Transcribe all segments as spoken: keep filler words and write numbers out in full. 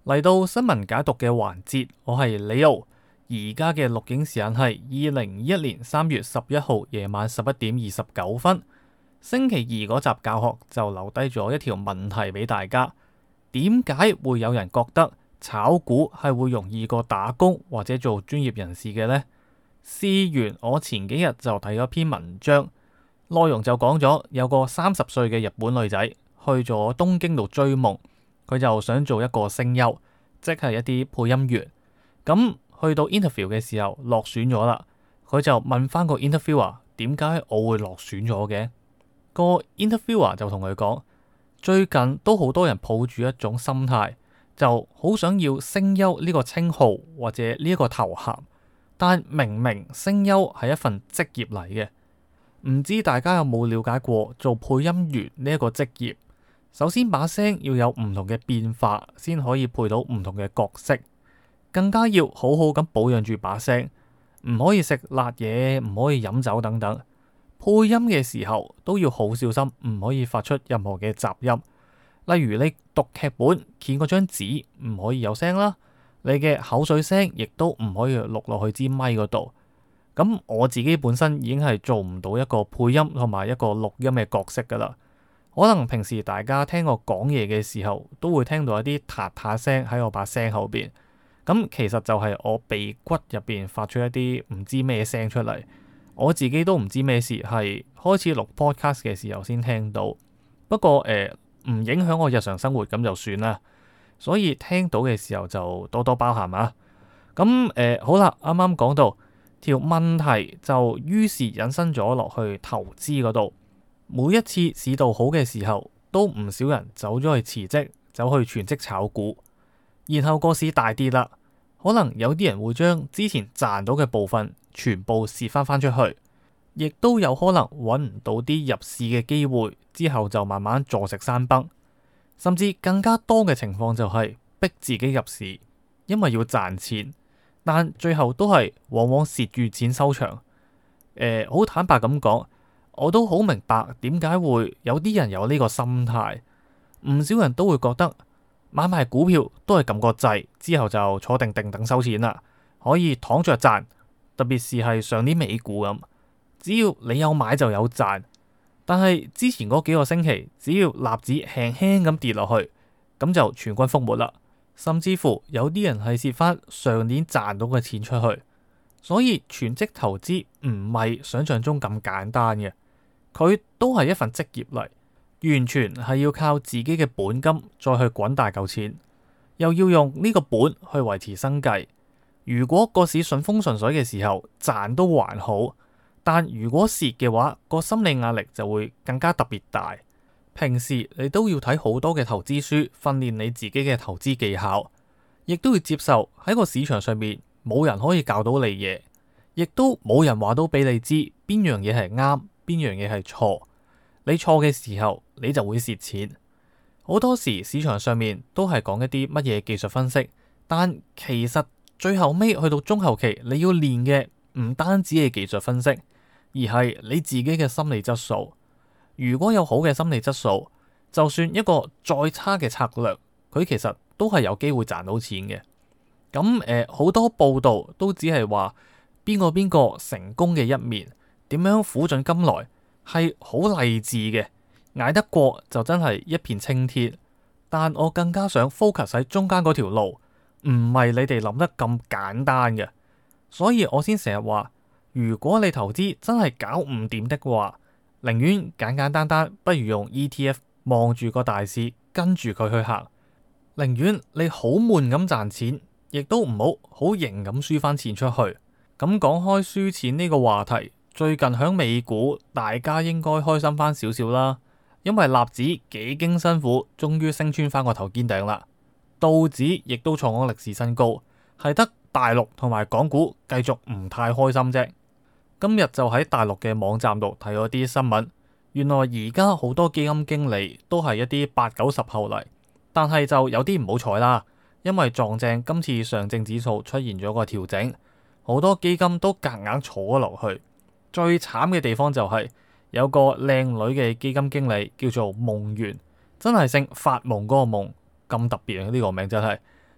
嚟到新聞解讀嘅環節，我係李奧。而家嘅錄影時間係二零二一年三月十一號夜晚十一點二十九分。星期二嗰集教學就留低咗一條問題俾大家：點解會有人覺得炒股係會容易過打工或者做專業人士嘅呢？事緣我前幾日就睇咗篇文章，內容就講咗有個三十歲嘅日本女仔去咗東京度追夢，佢就想做一個聲優，即係一啲配音員。咁去到 interview 嘅時候落選咗啦，佢就問翻個 interviewer 點解我會落選咗嘅？個 interviewer 就同佢講，最近都好多人抱住一種心態，就好想要聲優呢個稱號或者呢一個頭銜，但明明聲優係一份職業嚟嘅，唔知大家有冇了解過做配音員呢一個職業？首先把聲要有唔同嘅變化，先可以配到唔同嘅角色，更加要好好咁保養住把聲，唔可以食辣嘢，唔可以飲酒等等。配音嘅時候都要好小心，唔可以發出任何嘅雜音。例如你讀劇本，見嗰張紙唔可以有聲啦，你嘅口水聲亦都唔可以錄落去支咪嗰度。咁我自己本身已經係做唔到一個配音同埋一個錄音嘅角色噶啦。可能平時大家聽我講嘢嘅時候，都會聽到一啲嗒嗒聲喺我把聲後邊。咁其實就係我鼻骨入邊發出一啲唔知咩聲出嚟。我自己都唔知咩事，係開始錄 podcast 嘅時候先聽到。不過誒，唔影響我日常生活咁就算啦。所以聽到嘅時候就多多包涵啊。咁誒、呃、好啦，啱啱講到條問題，就於是引申咗落去投資嗰度。每一次市道好嘅時候，都唔少人走咗去辭職，走去全職炒股。然後個市大跌啦，可能有啲人會將之前賺到嘅部分全部蝕翻翻出去，亦都有可能揾唔到啲入市嘅機會，之後就慢慢坐食山崩。甚至更加多嘅情況就係逼自己入市，因為要賺錢，但最後都係往往蝕住錢收場。誒、呃，好坦白咁講，我都好明白點解會有啲人有呢個心態。唔少人都會覺得買賣股票都係撳個掣，之後就坐定定等收錢啦，可以躺着賺。特別是係上年美股咁，只要你有買就有賺。但係之前嗰幾個星期，只要納指輕輕咁跌落去，咁就全軍覆沒啦。甚至乎有啲人係蝕翻上年賺到嘅錢出去。所以全職投資唔係想象中咁簡單嘅，佢都係一份職業嚟，完全係要靠自己嘅本金再去滾大嚿錢，又要用呢個本去維持生計。如果個市順風順水嘅時候賺都還好，但如果蝕嘅話，個心理壓力就會更加特別大。平時你都要睇好多嘅投資書，訓練你自己嘅投資技巧，亦都要接受喺個市場上面冇人可以教到你嘢，亦都冇人話到俾你知邊樣嘢係啱，邊樣嘢係錯。你錯嘅時候，你就會蝕錢。好多時市場上面都係講一啲乜嘢技術分析，但其實最後尾去到中後期，你要練嘅唔單止係技術分析，而係你自己嘅心理質素。如果有好嘅心理質素，就算一個再差嘅策略，佢其實都係有機會賺到錢嘅。咁誒，好多報道都只係話邊個邊個成功嘅一面，點樣苦盡甘來，係好勵志嘅，捱得過就真係一片青天。但我更加想 focus 喺中間嗰條路，唔係你哋諗得咁簡單嘅。所以我先成日話，如果你投資真係搞唔掂的話，寧願簡簡單單，不如用 E T F 望住個大市，跟住佢去行。寧願你好悶咁賺錢，亦都唔好好型咁輸翻錢出去。咁講開輸錢呢個話題，最近響美股，大家應該開心翻少少啦，因為納指幾經辛苦，終於升穿翻個頭肩頂啦。道指亦都創咗歷史新高，係得大陸同埋港股繼續唔太開心啫。今日就喺大陸嘅網站度睇咗啲新聞，原來而家好多基金經理都係一啲八九十後嚟，但係就有啲唔好彩啦，因為撞正今次上證指數出現咗個調整，好多基金都夾硬坐咗落去。最慘嘅地方就係、是、有個靚女嘅基金經理叫做夢圓，真係姓發夢嗰個夢，咁特別啊！呢個名真係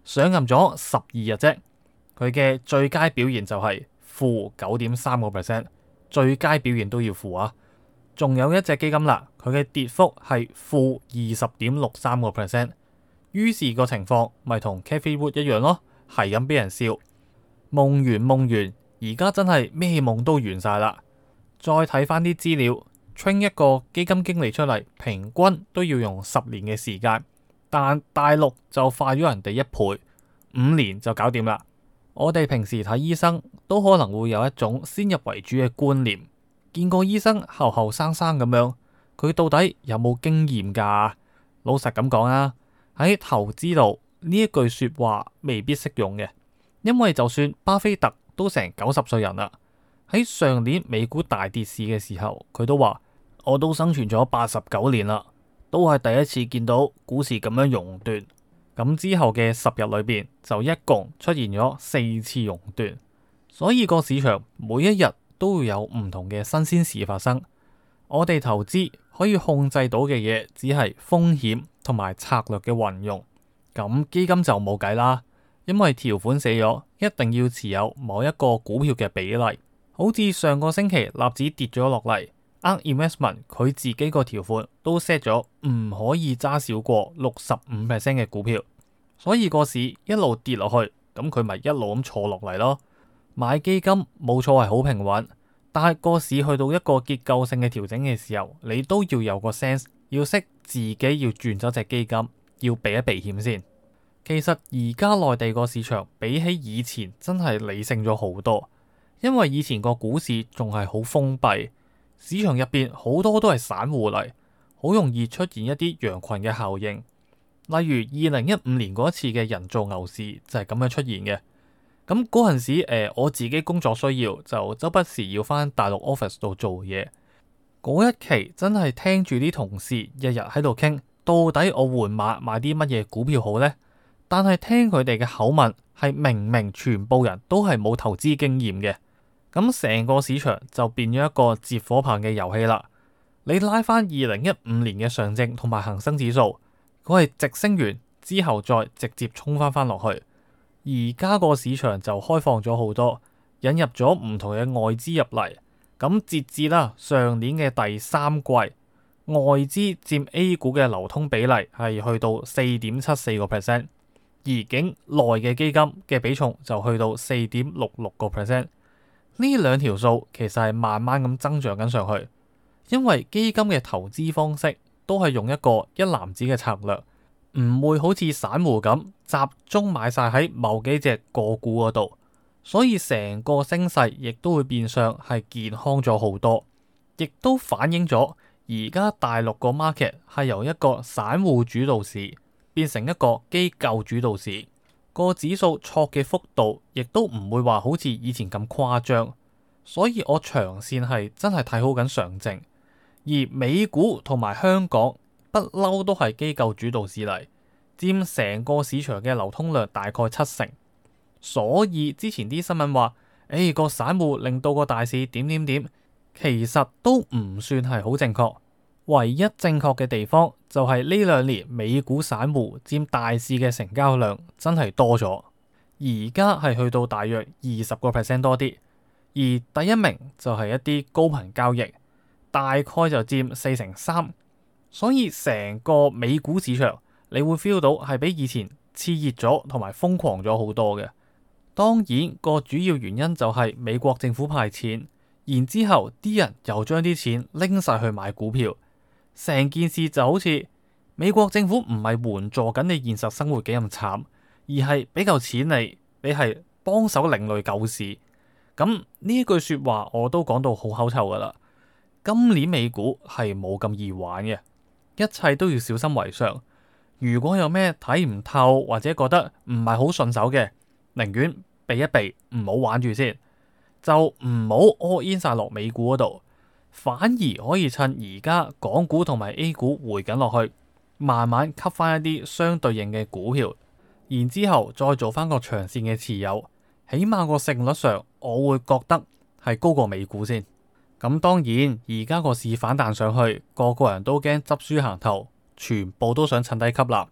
上任咗十二日啫，佢嘅最佳表現就係負九點三個 percent， 最佳表現都要負啊！仲有一隻基金啦，佢嘅跌幅係負二十點六三個 percent， 於是個情況咪同 Cathie Wood 一樣咯，係咁俾人笑，夢完夢完，而家真係咩夢都完晒啦！再睇翻啲資料 train 一個基金經理出嚟，平均都要用十年嘅時間，但大陸就快咗人哋一倍，五年就搞掂啦。我哋平時睇醫生都可能會有一種先入為主嘅觀念，見個醫生後後生生咁樣，佢到底有冇經驗㗎？老實咁講啊，喺投資度呢一句說話未必適用嘅，因為就算巴菲特都成九十歲人啦，喺上年美股大跌市嘅時候，佢都話我都生存咗八十九年啦，都係第一次見到股市咁樣熔斷。咁之後嘅十日裏邊就一共出現咗四次熔斷，所以個市場每一日都會有唔同嘅新鮮事發生。我哋投資可以控制到嘅嘢只係風險同埋策略嘅運用，咁基金就冇計啦，因為條款寫咗一定要持有某一個股票嘅比例。好似上個星期納指跌咗落嚟，ARK Investment 佢自己個條款都 set 咗唔可以揸少過六十五 percent 嘅股票，所以個市一路跌落去，咁佢咪一路咁坐落嚟咯。買基金冇錯係好平穩，但係個市去到一個結構性嘅調整嘅時候，你都要有個 sense， 要識自己要轉走隻基金，要避一避險先。其實而家內地個市場比起以前真係理性咗好多。因為以前個股市仲係好封閉，市場入邊好多都係散戶嚟，好容易出現一啲羊群嘅效應。例如二零一五年嗰一次嘅人造牛市就係咁樣出現嘅。咁嗰陣時，誒、呃、我自己工作需要，就周不時要翻大陸 office 度做嘢。嗰一期真係聽住啲同事日日喺度傾，到底我換馬買啲乜嘢股票好呢？但係聽佢哋嘅口吻，係明明全部人都係冇投資經驗嘅。咁成個市場就變咗一個接火棒嘅遊戲啦。你拉翻二零一五年嘅上證同埋恒生指數，佢係直升完之後再直接衝翻翻落去。而家個市場就開放咗好多，引入咗唔同嘅外資入嚟。咁截至啦上年嘅第三季，外資佔 A 股嘅流通比例係去到四點七四個 percent， 而境內嘅基金嘅比重就去到四點六六個 percent。呢兩條數其實係慢慢咁增長緊上去，因為基金嘅投資方式都係用一個一籃子嘅策略，唔會好似散戶咁集中買晒喺某幾隻個股嗰度，所以成個升勢亦都會變相係健康咗好多，亦都反映咗而家大陸個 market 係由一個散戶主導市變成一個機構主導市。個指數挫嘅幅度亦都唔會話好似以前咁誇張，所以我長線係真係睇好緊上證，而美股同埋香港不嬲都係機構主導市嚟，佔成個市場嘅流通量大概七成，所以之前啲新聞話，誒、哎、個散戶令到個大市點點點，其實都唔算係好正確。唯一正確嘅地方就係呢兩年美股散戶佔大市嘅成交量真係多咗，而家係去到大約二十個 percent 多啲，而第一名就係一啲高頻交易，大概就佔四成三，所以成個美股市場你會 feel 到係比以前熾熱咗同埋瘋狂咗好多嘅。當然個主要原因就係美國政府派錢，然之後啲人又將啲錢拎晒去買股票。成件事就好似美國政府唔係援助緊你現實生活幾咁慘，而係俾嚿錢你，你係幫手另類救市。咁呢一句說話我都講到好口臭噶啦。今年美股係冇咁易玩嘅，一切都要小心為上。如果有咩睇唔透或者覺得唔係好順手嘅，寧願避一避，唔好玩住先，就唔好 all in 晒落美股嗰度。反而可以趁而家港股同埋 A 股回緊落去，慢慢吸翻一啲相對應嘅股票，然之後再做翻個長線嘅持有，起碼個勝率上我會覺得係高過美股先。咁當然而家個市反彈上去，個個人都驚執輸行頭，全部都想趁低吸納。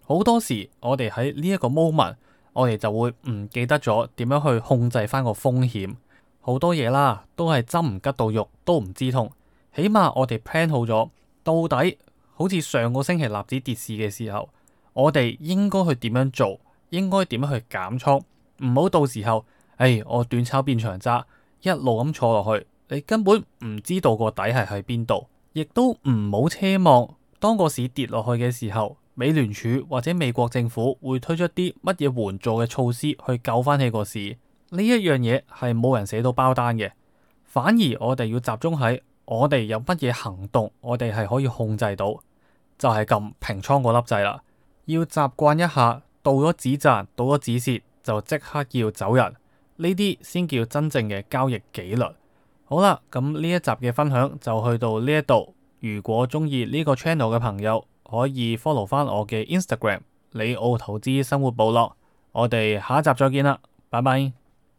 好多時我哋喺呢一個 moment，我哋就會唔記得咗點樣去控制翻個風險。好多嘢啦，都係針唔吉到肉都唔知痛。起碼我哋 plan 好咗，到底好似上個星期納指跌市嘅時候，我哋應該去點樣做，應該點樣去減倉，唔好到時候，誒，我短炒變長揸，一路咁坐落去，你根本唔知道個底係喺邊度，亦都唔好奢望當個市跌落去嘅時候，美聯儲或者美國政府會推出啲乜嘢援助嘅措施去救翻起個市。呢一樣嘢係冇人寫到包單嘅，反而我哋要集中喺我哋有乜嘢行動，我哋係可以控制到，就係撳平倉嗰粒掣啦。要習慣一下，到咗止賺，到咗止蝕就即刻要走人，呢啲先叫真正嘅交易紀律。好啦，咁呢一集嘅分享就去到呢一度。如果中意呢個 channel 嘅朋友，可以 follow 翻我嘅 Instagram 李奧投資生活部落。我哋下一集再見啦，拜拜。